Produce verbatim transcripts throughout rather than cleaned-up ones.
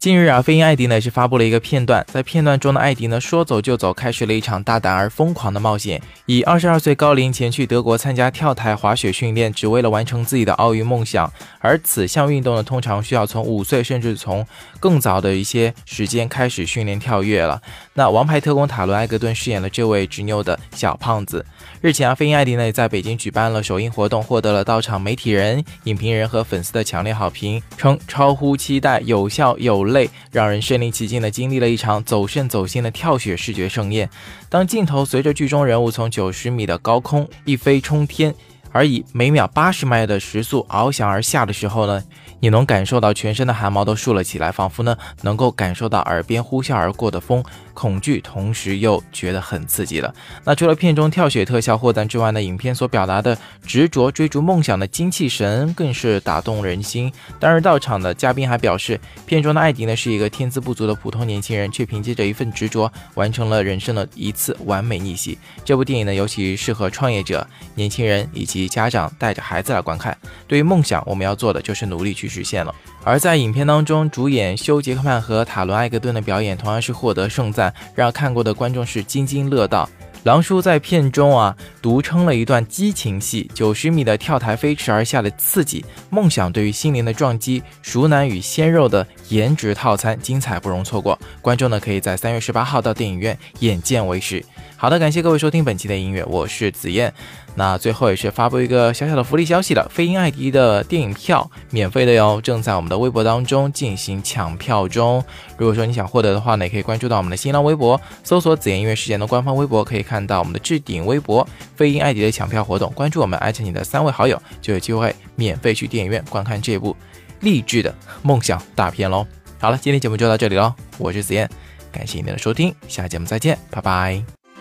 近日啊，飞鹰艾迪呢是发布了一个片段，在片段中的艾迪呢说走就走，开始了一场大胆而疯狂的冒险，以二十二岁高龄前去德国参加跳台滑雪训练，只为了完成自己的奥运梦想。而此项运动呢，通常需要从五岁甚至从更早的一些时间开始训练跳跃了。那王牌特工塔伦·埃格顿饰演了这位执拗的小胖子。日前啊，飞鹰艾迪呢在北京举办了首映活动，获得了到场媒体人、影评人和粉丝的强烈好评，称超乎期待，有笑有泪，让人身临其境地经历了一场走肾走心的跳雪视觉盛宴。当镜头随着剧中人物从九十米的高空一飞冲天，而以每秒八十迈的时速翱翔而下的时候呢，你能感受到全身的汗毛都竖了起来，仿佛呢能够感受到耳边呼啸而过的风，恐惧同时又觉得很刺激了。那除了片中跳雪特效获赞之外呢，影片所表达的执着追逐梦想的精气神更是打动人心。当日到场的嘉宾还表示，片中的艾迪呢是一个天资不足的普通年轻人，却凭借着一份执着完成了人生的一次完美逆袭。这部电影呢尤其适合创业者、年轻人以及家长带着孩子来观看。对于梦想，我们要做的就是努力去实现了。而在影片当中，主演休·杰克曼和塔伦·埃格顿的表演同样是获得盛赞，让看过的观众是津津乐道。狼叔在片中啊独撑了一段激情戏，九十米的跳台飞驰而下的刺激，梦想对于心灵的撞击，熟男与鲜肉的颜值套餐，精彩不容错过。观众呢可以在三月十八号到电影院眼见为实。好的，感谢各位收听本期的音乐，我是子燕。那最后也是发布一个小小的福利消息了，飞鹰艾迪的电影票免费的哟，正在我们的微博当中进行抢票中。如果说你想获得的话呢，也可以关注到我们的新浪微博，搜索子燕音乐事件的官方微博，可以看到我们的置顶微博飞鹰艾迪的抢票活动，关注我们，艾特你的三位好友，就有机会免费去电影院观看这部励志的梦想大片咯。好了，今天节目就到这里咯，我是子燕，感谢您的收听，下期节目再见，拜拜。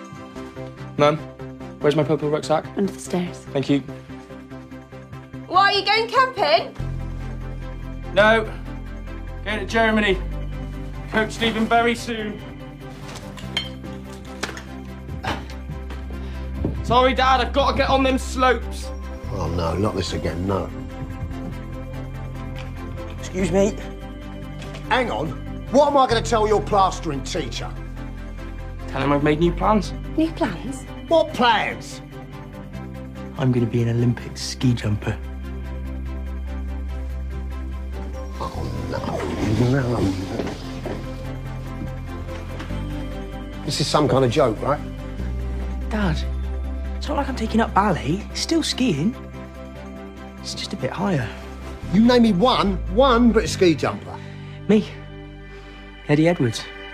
Mum, where's my purple rucksack? Under the stairs. Thank you. Why, are you going camping? No. Going to Germany. Coach leaving very soon. Sorry, Dad, I've got to get on them slopes. Oh, no, not this again, no. Excuse me. Hang on. What am I going to tell your plastering teacher? Tell him I've made new plans. New plans? What plans? I'm going to be an Olympic ski jumper. Oh, no, no. This is some kind of joke, right? Dad, it's not like I'm taking up ballet. It's still skiing. It's just a bit higher. You name me one, one British ski jumper. Me. Eddie Edwards.